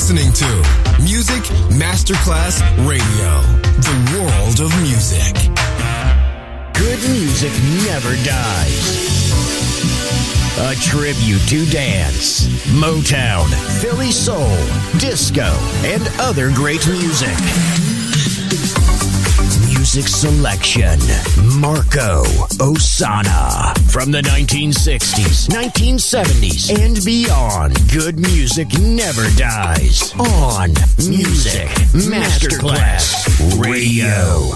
listening to Music Masterclass Radio, the world of music. Good music never dies. A tribute to dance, Motown, Philly soul, disco, and other great music. Music selection, Marco Ossanna. From the 1960s, 1970s, and beyond, good music never dies. On Music Masterclass Radio.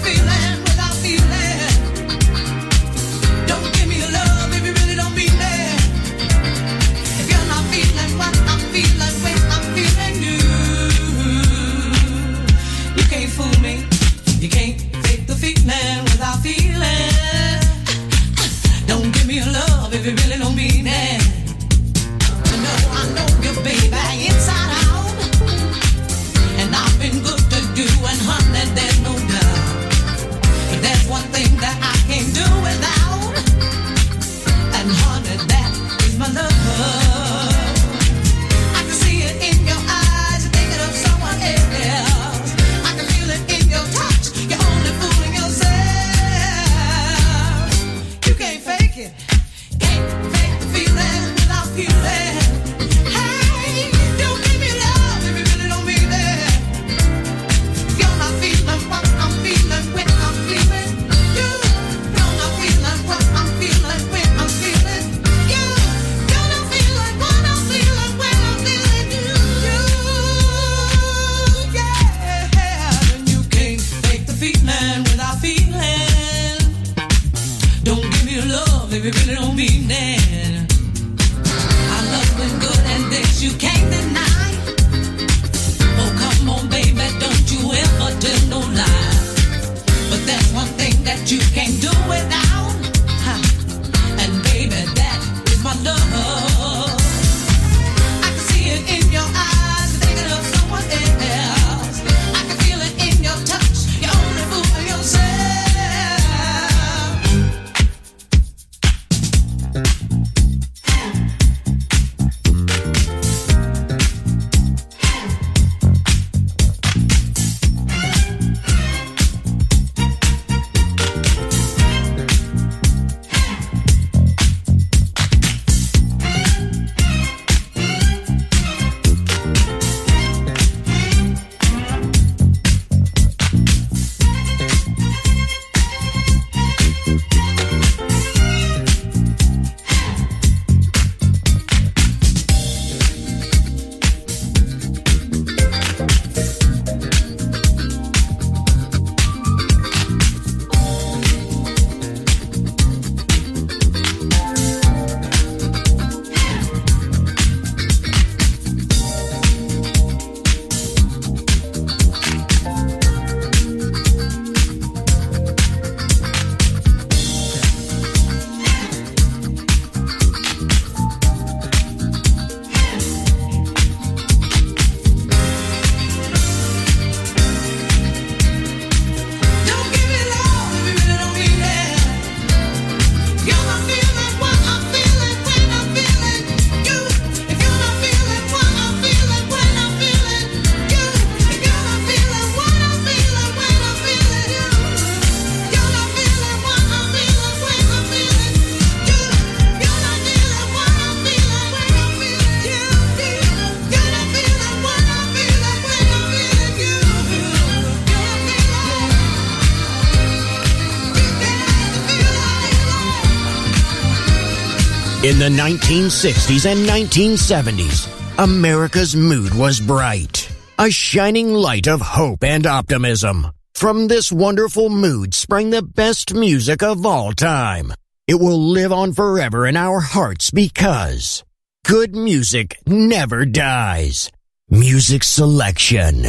In the 1960s and 1970s, America's mood was bright, a shining light of hope and optimism. From this wonderful mood sprang the best music of all time. It will live on forever in our hearts because good music never dies. Music selection,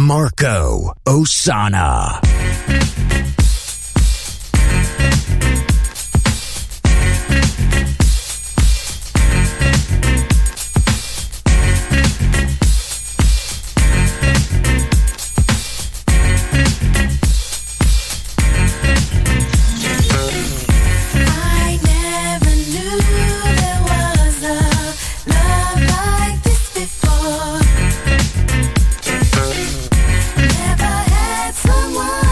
Marco Ossanna. Never had someone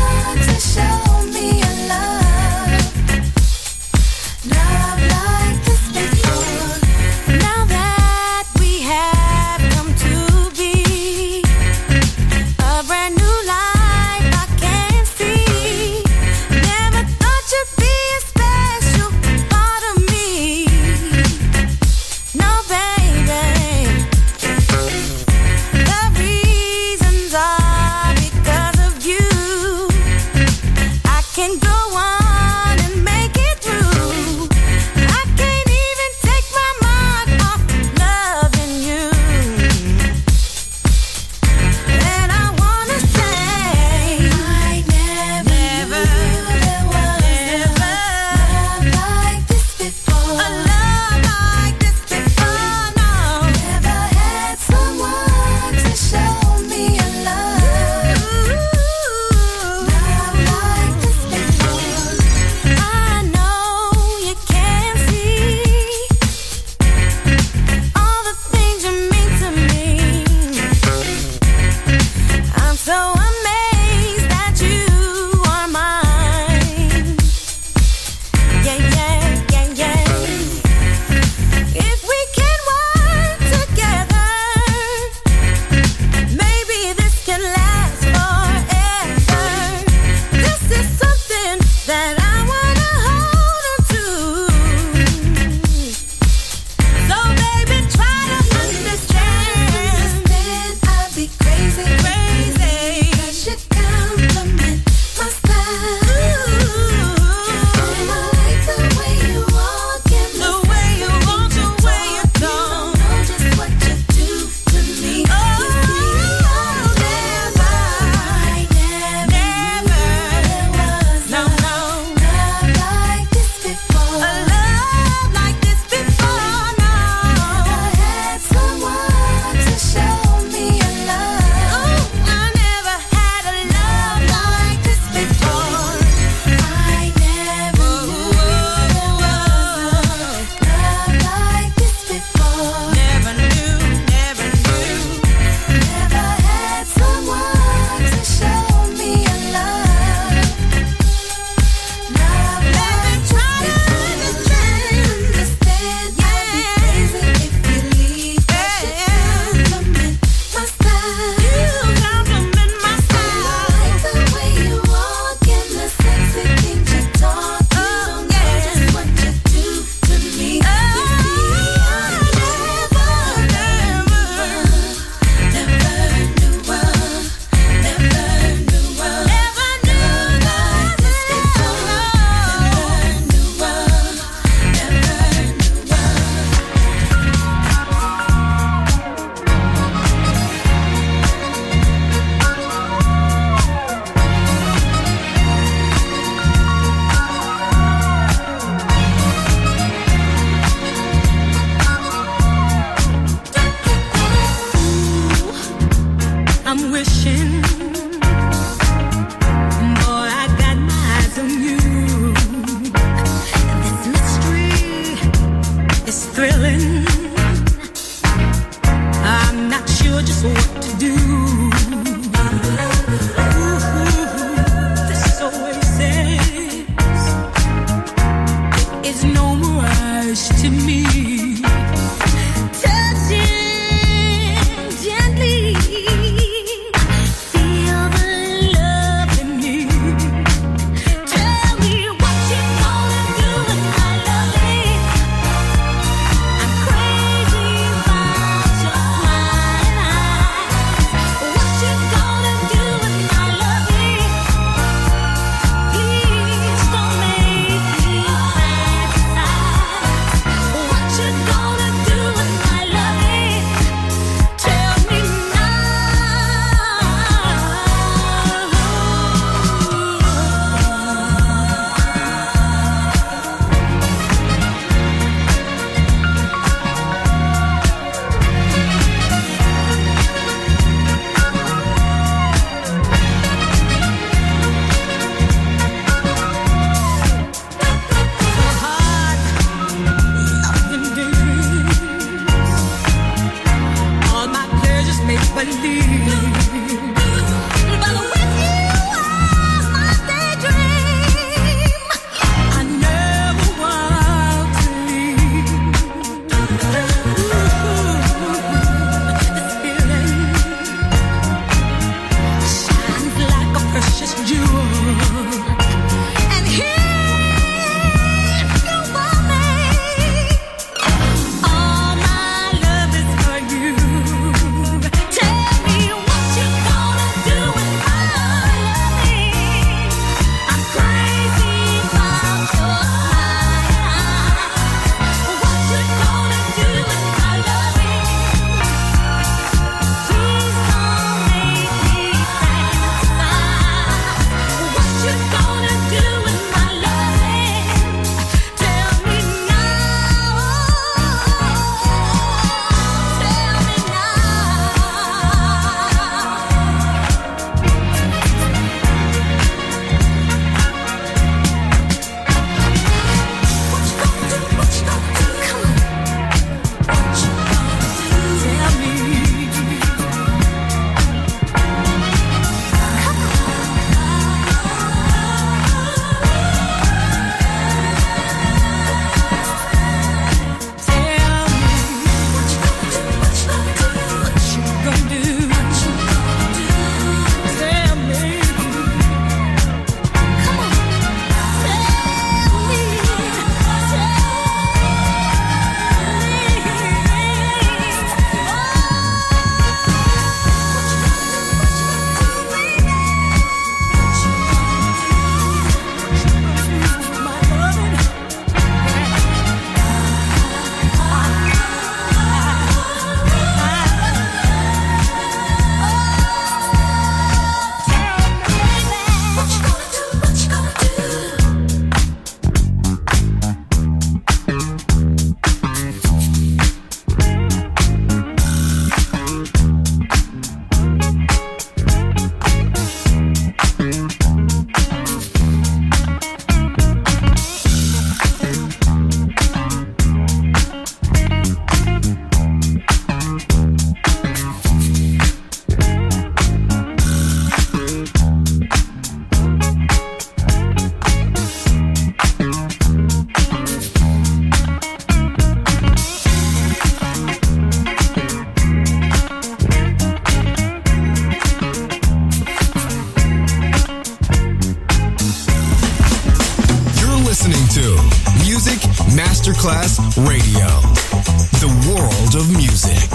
Masterclass Radio, the world of music.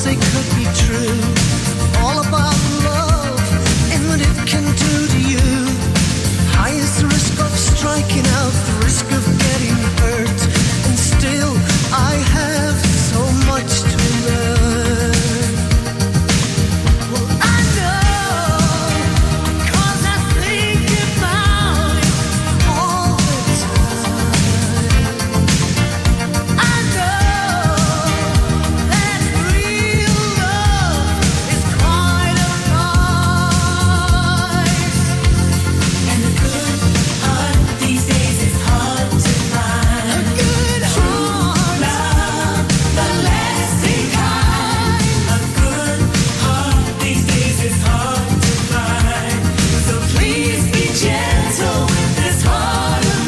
say could be true. All about love and what it can do to you. Highest risk of striking out, the risk of getting hurt. And still I have so much to learn. Well, I know, 'cause I think about it all the time. I know that real love is quite a price. And a good heart these days is hard to find. A good heart, love, the lasting kind. A good heart these days is hard to find. So please be gentle with this heart of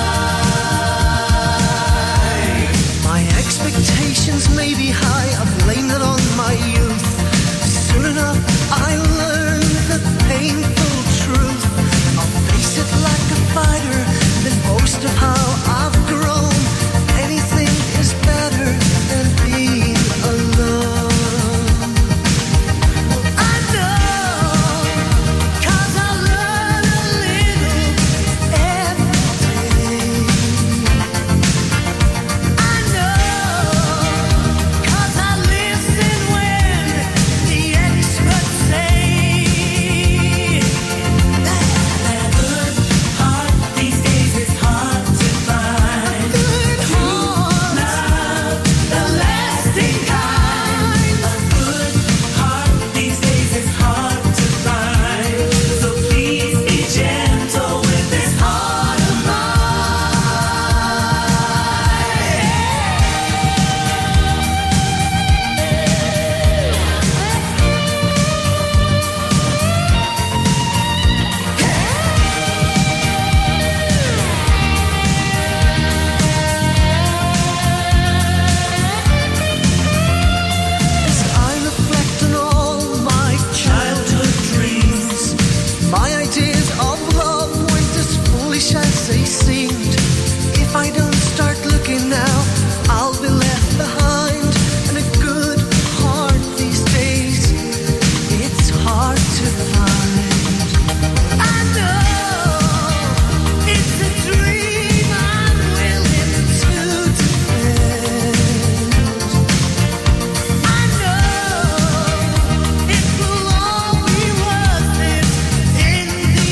mine. My expectations may be high, I blame it on my youth. Soon enough I learned the painful truth. I'll face it like a fighter, then boast of how I've grown. Anything is better than being alone. I know, 'cause I learn a little every day. I know, 'cause I listen when the experts say that a good heart these days is hard to find. A good heart, love, the lasting kind. A good heart these days is hard to find. So please be gentle with this heart of As I reflect on all my childhood dreams, my ideas of love weren't as foolish as they seemed. If I don't start looking now, I'll be left behind. And a good heart these days, it's hard to find. I know it's a dream I'm willing to defend. I know it will all be worth it in the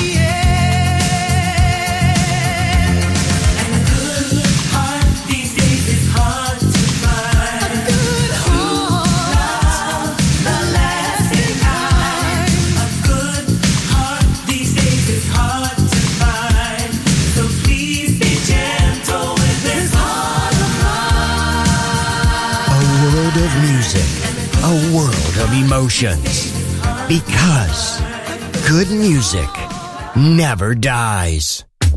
end. And a good heart these days is hard to find. A good heart, the lasting kind. A good heart these days is hard to find. So please be gentle with this heart of mine. A world of music, a world of emotions. Because good music never dies.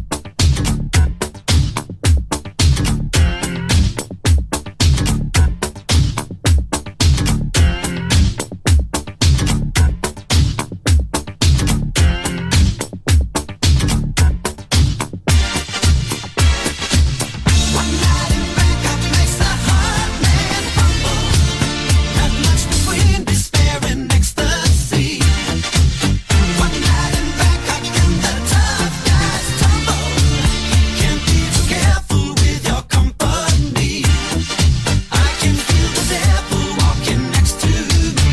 One night in Bangkok makes the heart man humble. Not much between despair and ecstasy. One night in Bangkok and the tough guys tumble. Can't be too careful with your company. I can feel the devil walking next to me.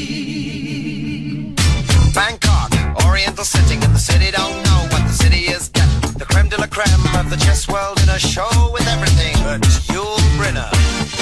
Bangkok, Oriental sitting in the city, don't know what the city is getting. The creme de la creme of the chess world in a show with everything but Yul Brynner.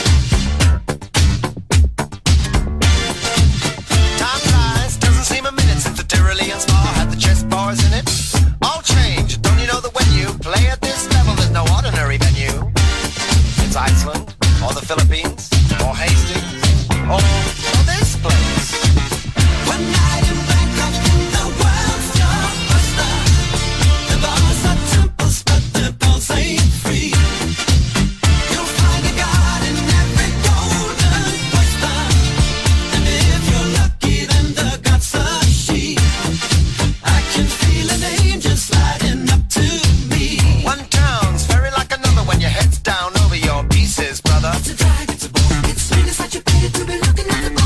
Time flies, doesn't seem a minute since the Tyrolean Spa had the chess bars in it. All changed, don't you know that when you play at this level, there's no ordinary venue. It's Iceland, or the Philippines, or Hastings, or this place. One night in Bangkok and the world's your buster. The bars are temples, but the balls ain't free. You'll find a god in every golden oyster. And if you're lucky, then the god's a she. I can feel an angel sliding up to me. One town's very like another when your head's down over your pieces, brother. It's a drag, it's a bore, it's really such a pity to be looking at the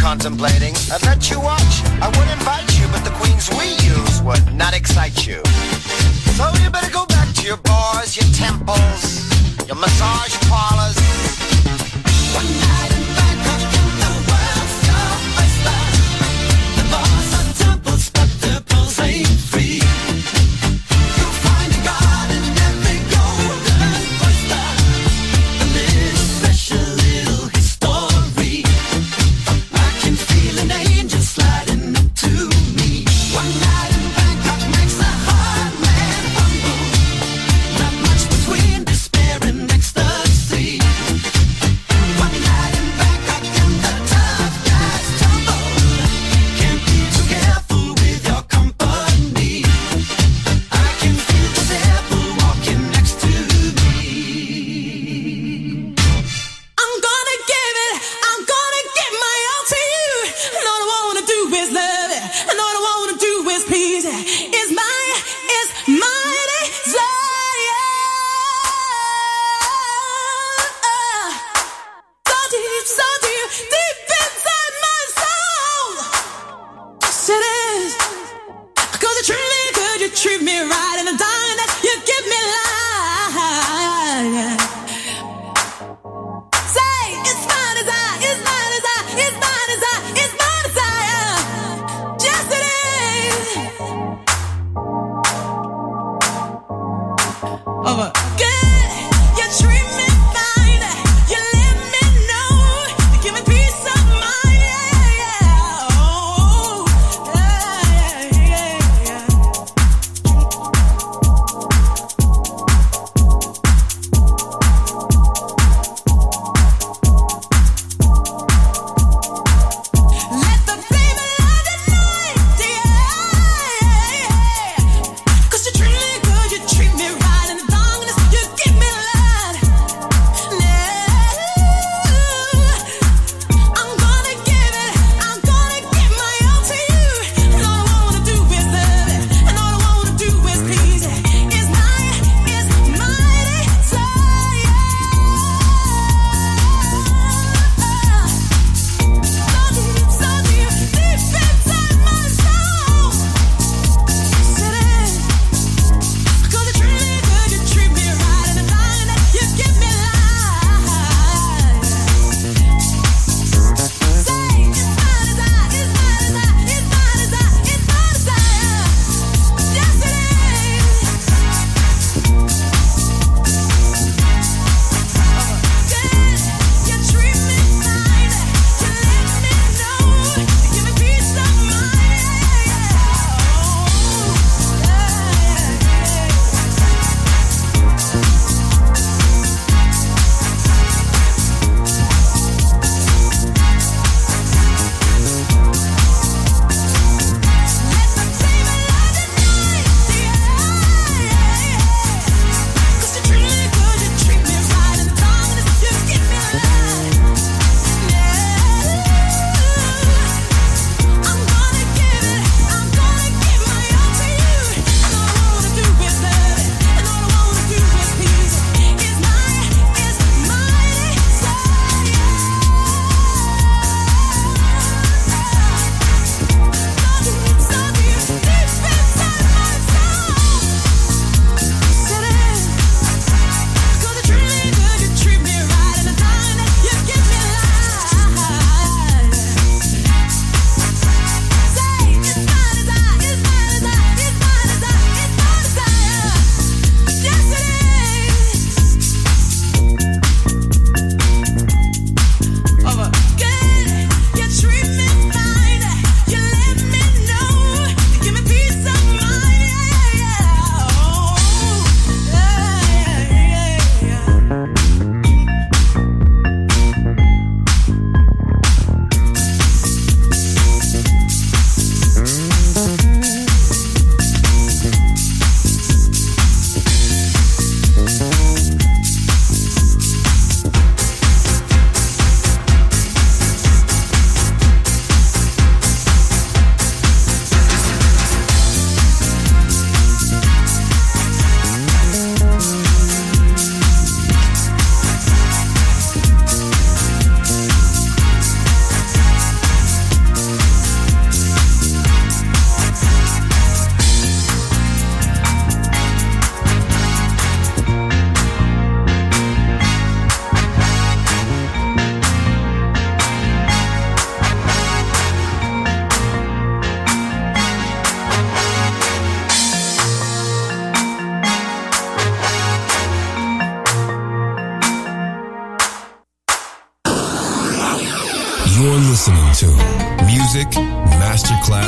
contemplating. I'd let you watch, I would invite you, but the queens we use would not excite you. So you better go back to your bars, your temples, your massage parlors. One night in Bangkok and the world's your oyster. The bars are temples, but the pulse ain't free. You'll find a god in every golden oyster. A little special little history. I can feel an angel sliding up to me. One night in Bangkok makes a hard man humble. Not much between despair and ecstasy. One night in Bangkok and the tough guys tumble. Can't be too careful with your company. I can feel the devil walking next to me. I'm gonna give my all to you. And all I wanna do is love it. And all I wanna do is please it. It's my desire. So deep inside my soul. Yes, it is. 'Cause you treat me good, you treat me right, and the dying that you give me life. Say, it's my desire, it's my desire, it's my desire, it's my desire. Yes, it is. Over. Good, you treat me fine, you let me know, you give me peace of mind. Yeah. Oh, yeah. Let the flame light the night, yeah. 'Cause you treat me good, you treat me right, and the darkness you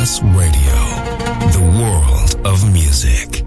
Masterclass Radio, the world of music.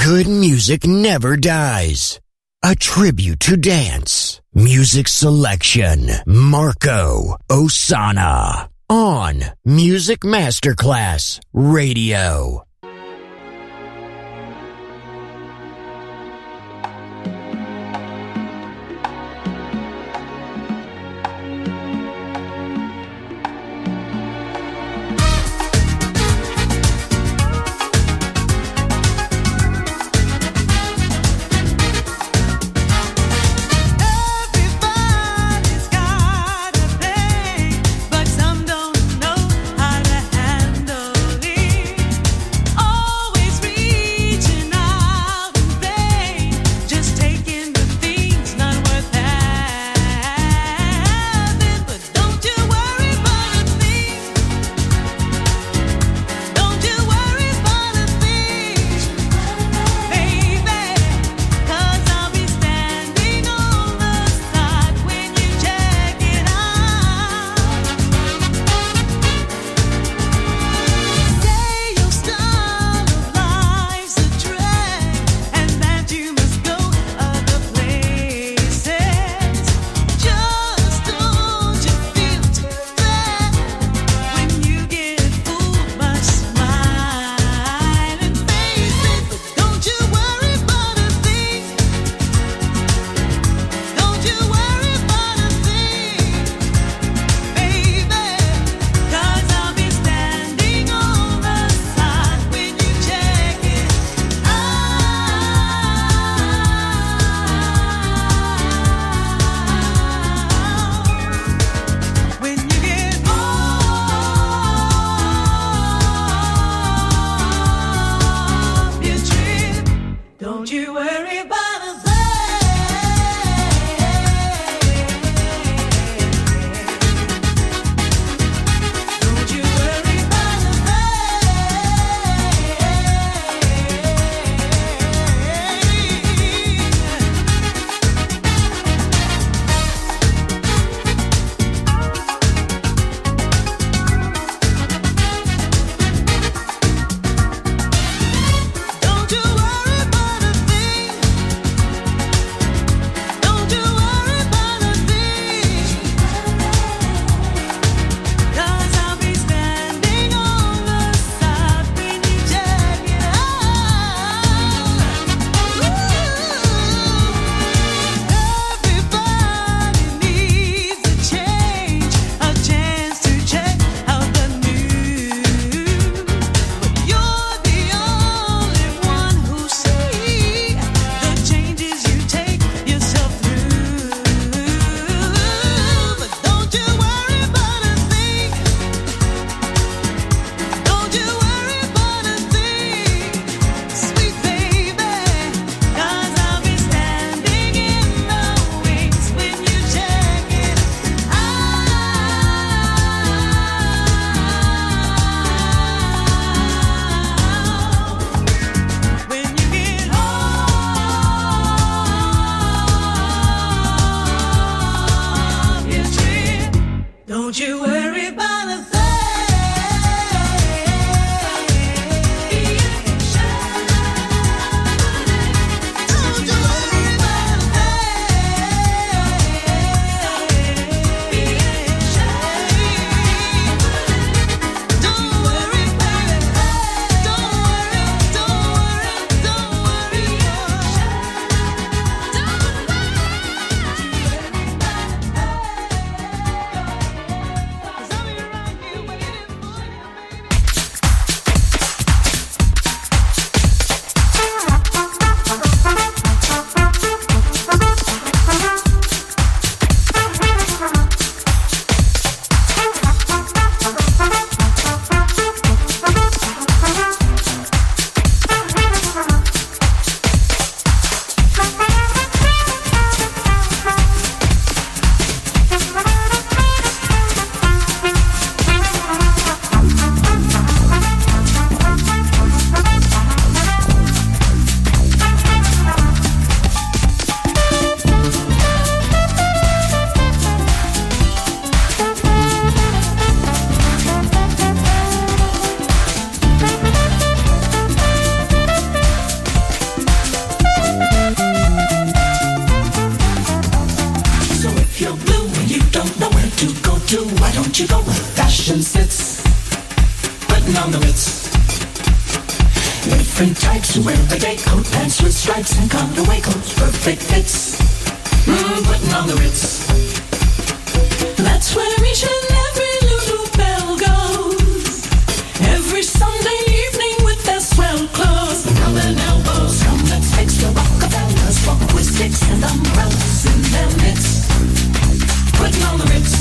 Good music never dies. A tribute to dance. Music selection. Marco Ossanna. On Music Masterclass Radio. But some don't know how to handle it. blue and you don't know where to go to, why don't you go where fashion sits? Putting on the Ritz. Different types who wear a day coat, pants with stripes and cutaway coats, perfect fits. Putting on the Ritz. That's where each and every Lulu Belle goes. Every Sunday evening with their swell clothes. Round and elbows, come let's fix the Rockefellers, walk with sticks and umbrellas in their midst. Putting on the Ritz.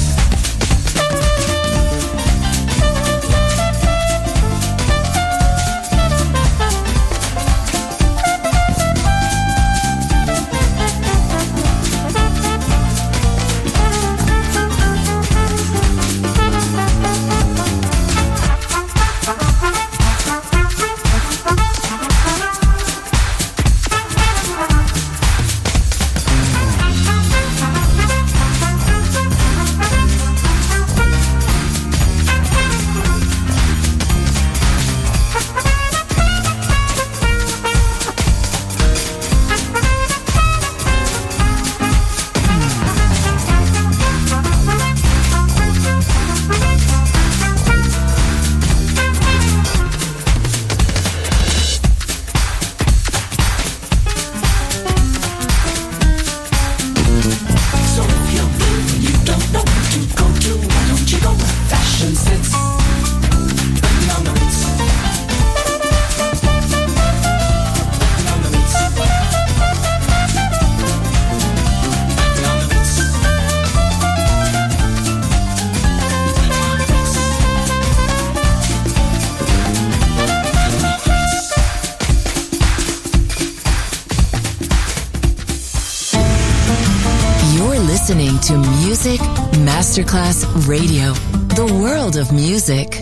Listening to Music Masterclass Radio, the world of music.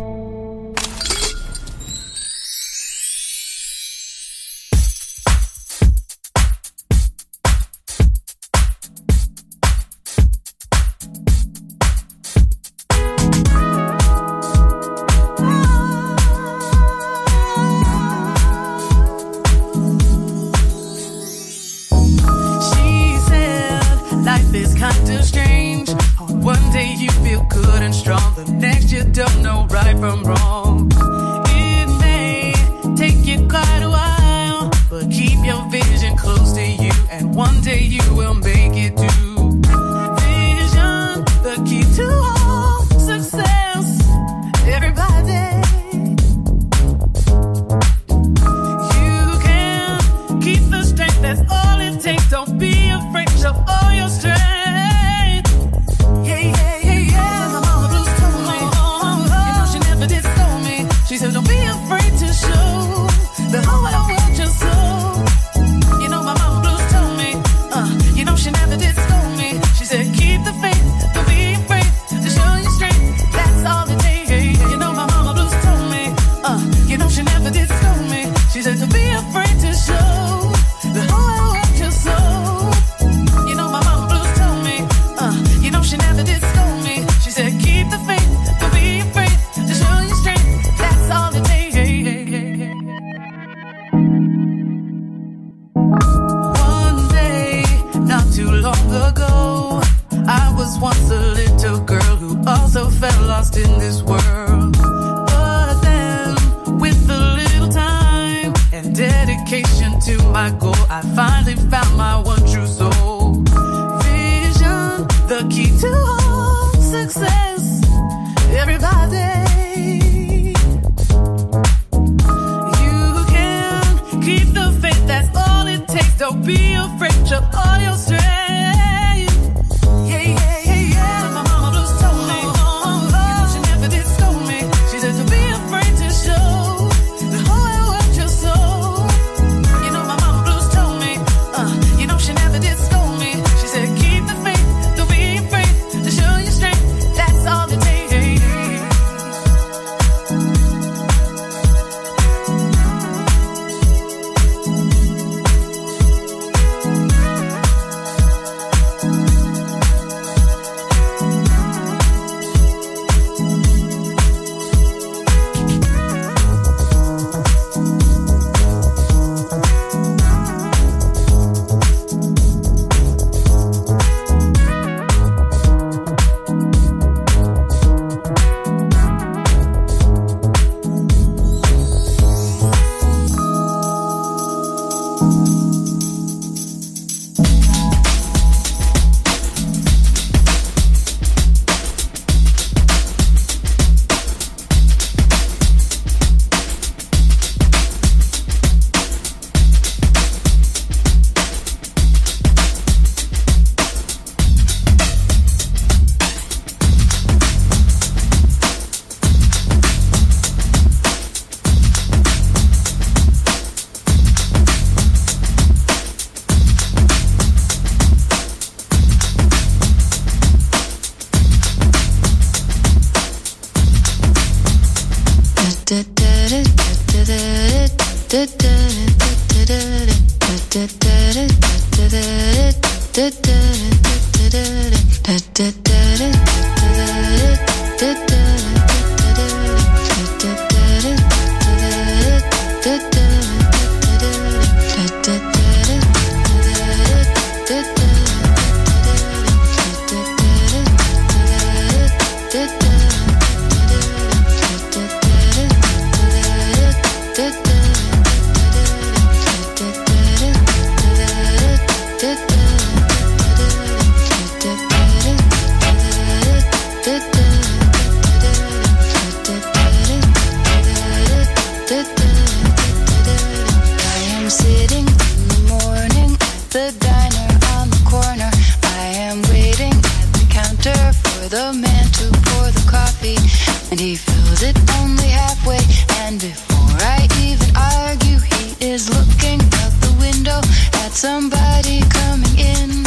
the man to pour the coffee, and he fills it only halfway. And before I even argue, he is looking out the window at somebody coming in.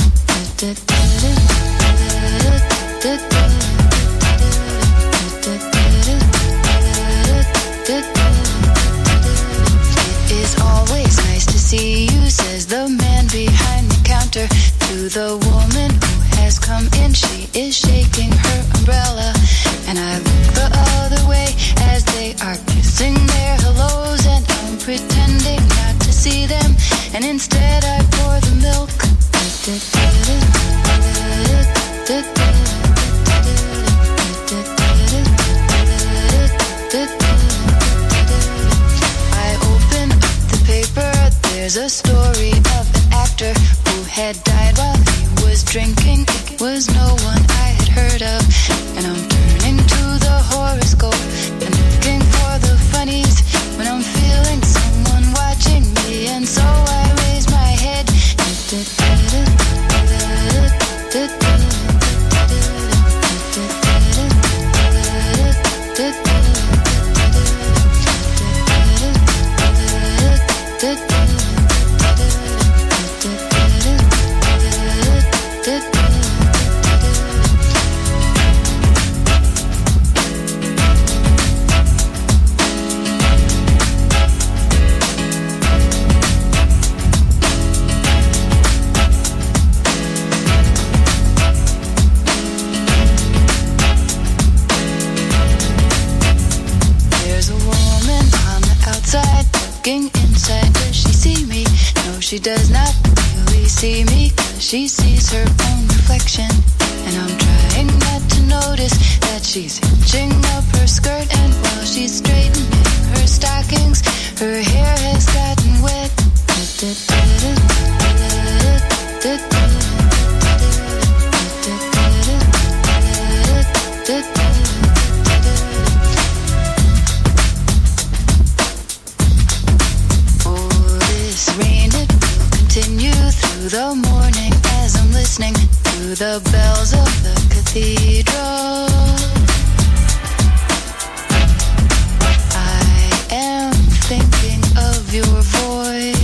It is always nice to see you, says the man behind the counter to the woman who has come in. She is shaking her umbrella, and I look the other way as they are kissing their hellos, and I'm pretending not to see them, and instead I pour the milk. I open up the paper. There's a story of an actor who had died while he was drinking. It was no one I had heard of, and I'm turning to the horoscope and looking for the funnies when I'm feeling someone watching me, and so I raise my head. Inside, does she see me? No, she does not really see me, 'cause she sees her own reflection. And I'm trying not to notice that she's hitching up her skirt, and while she's straightening her stockings, her hair has gotten wet. Through the morning as I'm listening to the bells of the cathedral. I am thinking of your voice.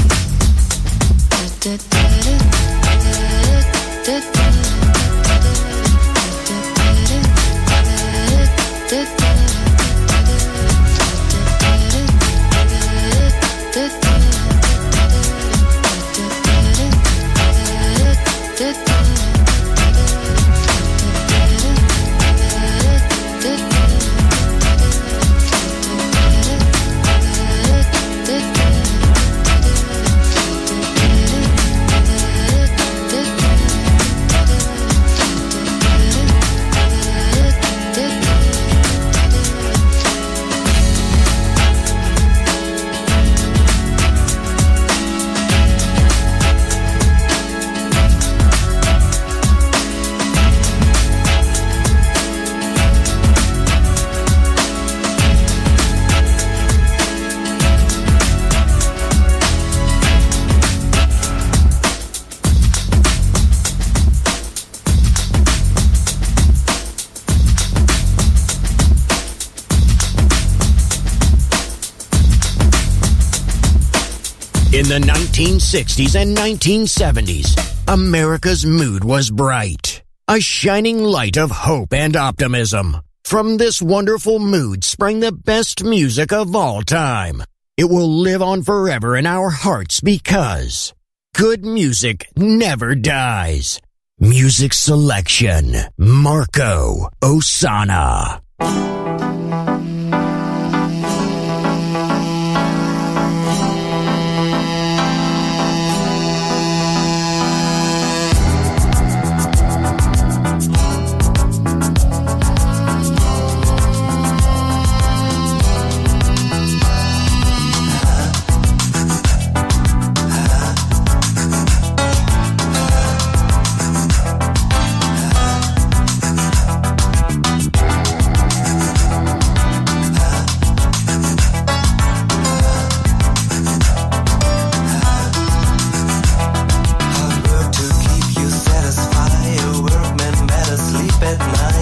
In the 1960s and 1970s, America's mood was bright. A shining light of hope and optimism. From this wonderful mood sprang the best music of all time. It will live on forever in our hearts because good music never dies. Music selection, Marco Ossanna. At night.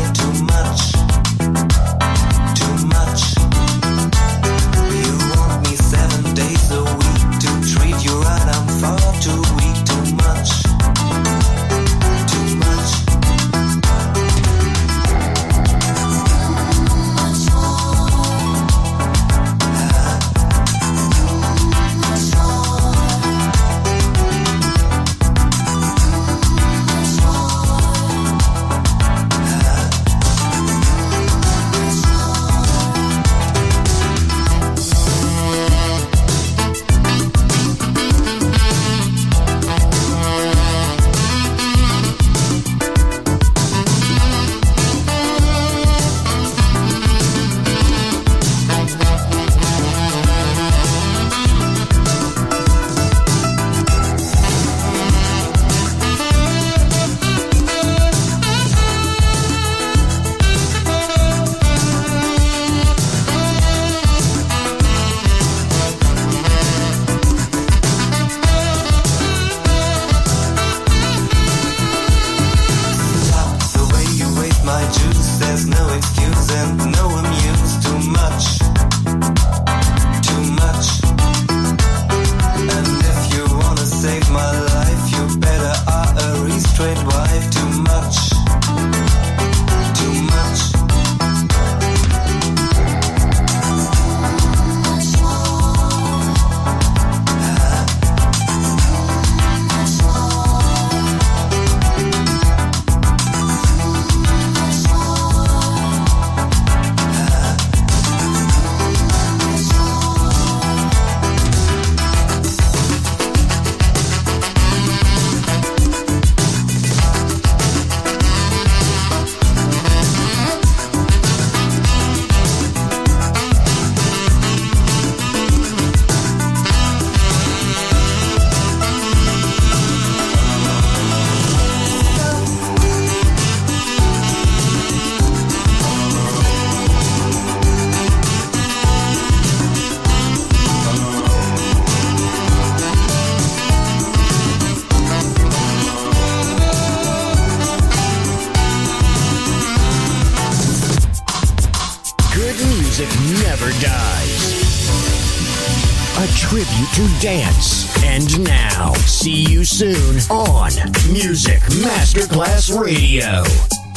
music never dies. A tribute to dance. And now, see you soon on Music Masterclass Radio.